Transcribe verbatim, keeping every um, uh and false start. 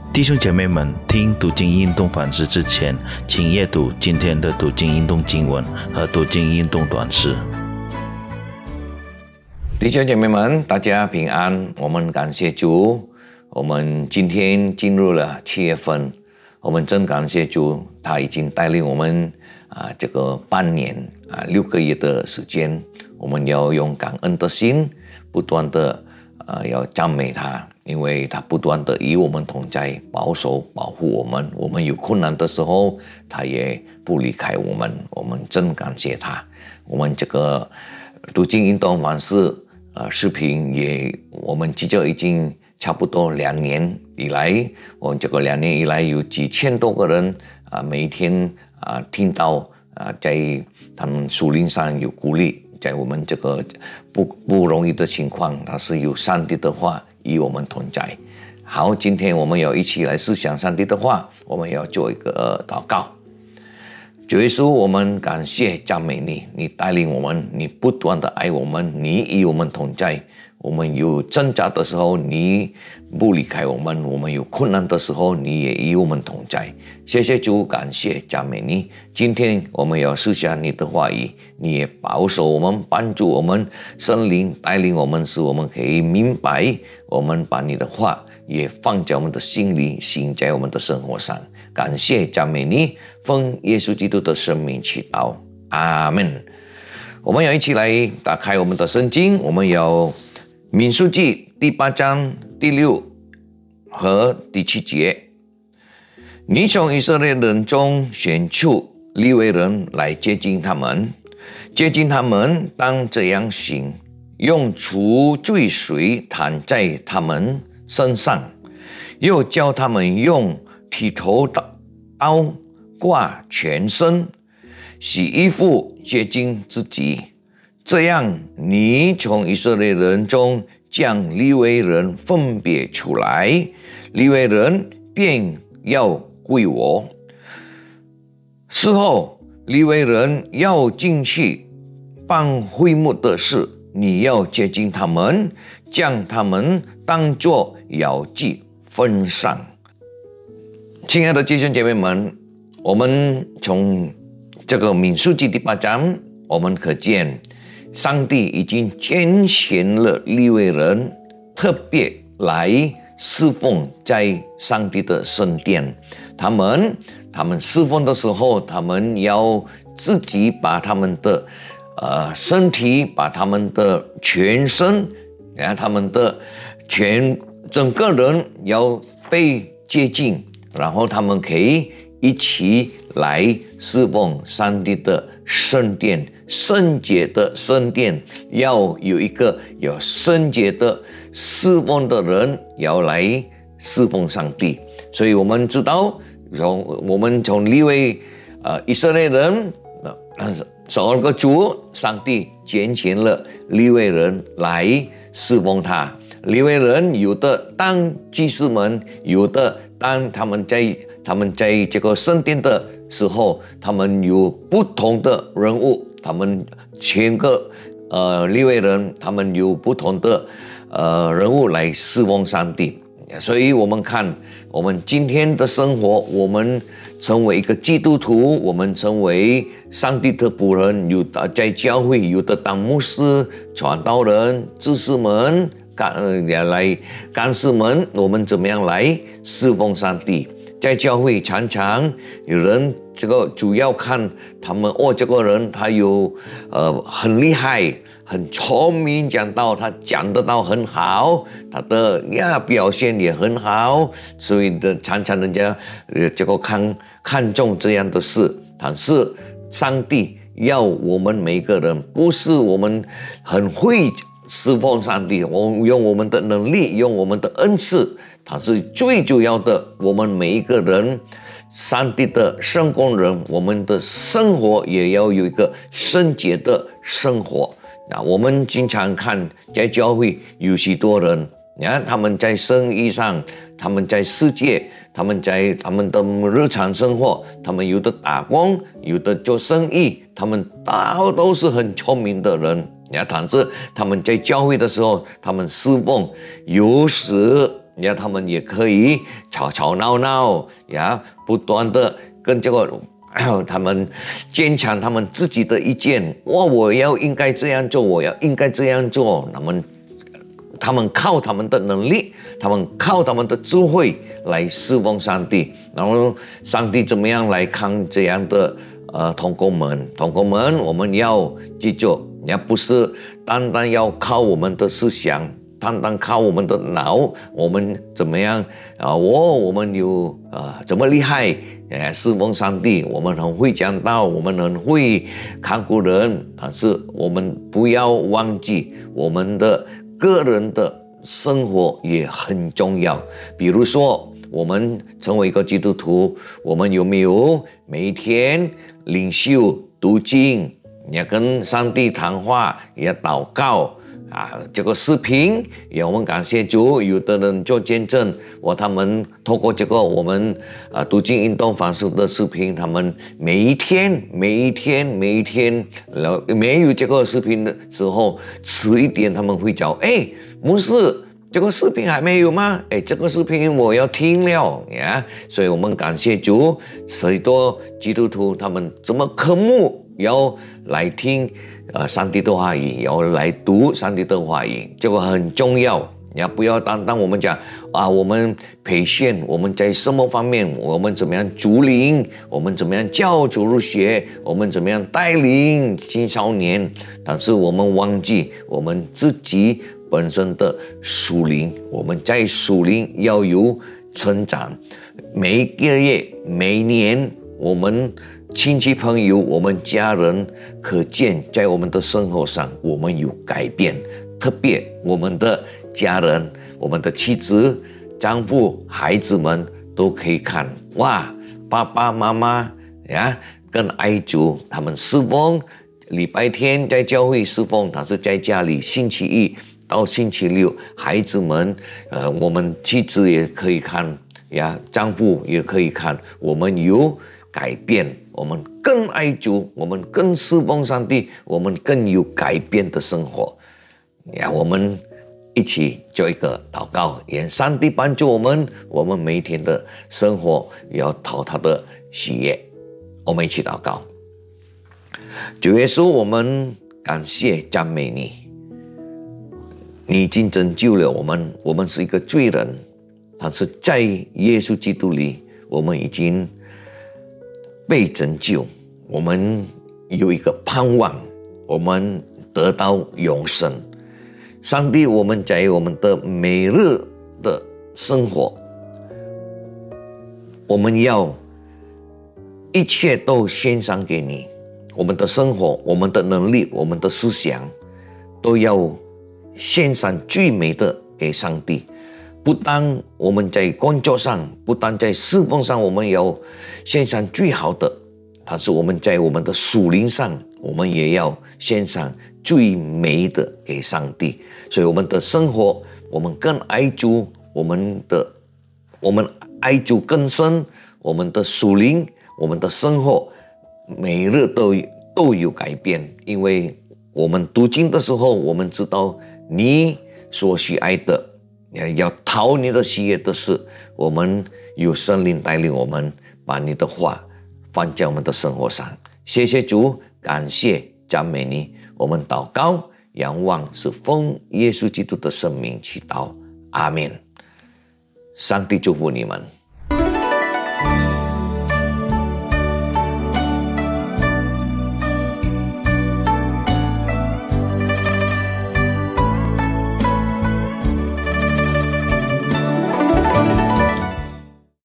弟兄姐妹们，听读经运动反思之前，请阅读今天的读经运动经文和读经运动短诗。 弟兄姐妹们，大家平安。我们感谢主，我们今天进入了七月份，我们真感谢主，他已经带领我们啊这个半年啊六个月的时间，我们要用感恩的心，不断的呃要赞美他，因为他不断的与我们同在，保守保护我们。我们有困难的时候，他也不离开我们。我们真感谢他。我们这个读经运动反思呃视频也，我们记着已经差不多两年以来，我们这个两年以来有几千多个人啊、呃，每一天啊、呃、听到啊、呃，在他们属灵上有鼓励。在我们这个不不容易的情况，它是有上帝的话与我们同在。好，今天我们要一起来思想上帝的话，我们要做一个祷告。主耶稣，我们感谢赞美你，你带领我们，你不断的爱我们，你与我们同在。我们有挣扎的时候，你不离开我们；我们有困难的时候，你也与我们同在。谢谢主，感谢赞美你。今天我们要思想你的话语，你也保守我们，帮助我们，圣灵带领我们，使我们可以明白。我们把你的话也放在我们的心里，行在我们的生活上。感谢赞美你，奉耶稣基督的生命祈祷，阿们。我们要一起来打开我们的圣经，我们要民数记第八章第六和第七节。你从以色列人中选出利未人来接近他们，接近他们当这样行：用除罪水弹在他们身上，又叫他们用剃头刀挂全身，洗衣服洁净自己。这样，你从以色列人中将利未人分别出来，利未人便要归我。事后，利未人要进去办会幕的事，你要接近他们，将他们当作摇祭分上。亲爱的弟兄姐妹们，我们从这个民数记第八章，我们可见上帝已经拣选了利未人，特别来侍奉在上帝的圣殿。他们他们侍奉的时候，他们要自己把他们的呃身体，把他们的全身，然后他们的全整个人要被接近，然后他们可以一起来侍奉上帝的圣殿。圣洁的圣殿要有一个有圣洁的侍奉的人要来侍奉上帝。所以我们知道，从我们从利未呃以色列人十二个族，上帝拣选了利未人来侍奉他。利未人有的当祭司们，有的当他们在他们在这个圣殿的时候，他们有不同的人物，他们全个呃利未人，他们有不同的呃人物来侍奉上帝。所以我们看我们今天的生活，我们成为一个基督徒，我们成为上帝的仆人，有的在教会，有的当牧师、传道人、知识们、干呃来干事们，我们怎么样来侍奉上帝？在教会常常有人这个主要看他们哦，这个人他有呃很厉害，很聪明，讲道他讲得到很好，他的呀表现也很好，所以的常常人家呃这个看看重这样的事。但是上帝要我们每个人，不是我们很会侍奉上帝，我们用我们的能力，用我们的恩赐，它是最主要的。我们每一个人，上帝的圣工人，我们的生活也要有一个圣洁的生活。那我们经常看在教会有许多人，你看他们在生意上，他们在世界，他们在他们的日常生活，他们有的打工，有的做生意，他们都都是很聪明的人。但是他们在教会的时候，他们侍奉有时呀，他们也可以吵吵闹闹呀，不断的跟这个他们坚强他们自己的意见。哇，我要应该这样做，我要应该这样做。他们他们靠他们的能力，他们靠他们的智慧来侍奉上帝。然后上帝怎么样来看这样的呃同工们？同工们，我们要记住，也不是单单要靠我们的思想，单单靠我们的脑，我们怎么样啊？我我们有啊怎么厉害？哎，侍奉上帝，我们很会讲道，我们很会看顾人，但是我们不要忘记我们的个人的生活也很重要。比如说，我们成为一个基督徒，我们有没有每一天领袖读经，也跟上帝谈话，也祷告啊？这个视频也我们感谢主，有的人做见证，我他们透过这个我们啊读经运动方式的视频，他们每一天每一天每一天，然后没有这个视频的时候，迟一点他们会讲，哎，牧师，这个视频还没有吗？哎，这个视频我要听了呀！所以我们感谢主，许多基督徒他们这么渴慕要来听呃上帝的话语，要来读上帝的话语，这个很重要。也不要单单我们讲啊，我们培训，我们在什么方面，我们怎么样主领，我们怎么样教主入学，我们怎么样带领青少年，但是我们忘记我们自己本身的属灵，我们在属灵要有成长。每一个月每年我们亲戚朋友我们家人可见在我们的生活上我们有改变，特别我们的家人，我们的妻子丈夫孩子们都可以看，哇，爸爸妈妈呀跟爱主，他们侍奉礼拜天在教会侍奉，但是在家里星期一到星期六，孩子们，呃，我们妻子也可以看呀，丈夫也可以看，我们有改变，我们更爱主，我们更侍奉上帝，我们更有改变的生活呀。我们一起做一个祷告，愿上帝帮助我们，我们每天的生活要讨他的喜悦。我们一起祷告。主耶稣，我们感谢赞美你，你已经拯救了我们，我们是一个罪人，但是在耶稣基督里，我们已经被拯救，我们有一个盼望，我们得到永生。上帝，我们在我们的每日的生活，我们要一切都献上给你，我们的生活，我们的能力，我们的思想，都要献上最美的给上帝。不但我们在工作上，不但在侍奉上，我们要献上最好的，但是我们在我们的属灵上，我们也要献上最美的给上帝。所以我们的生活，我们更爱主，我们的我们爱主更深，我们的属灵，我们的生活每日都都有改变。因为我们读经的时候，我们知道你所喜爱的，要讨你的喜悦的事，我们有圣灵带领我们，把你的话放在我们的生活上。谢谢主，感谢赞美你，我们祷告仰望是奉耶稣基督的圣名祈祷，阿们。上帝祝福你们。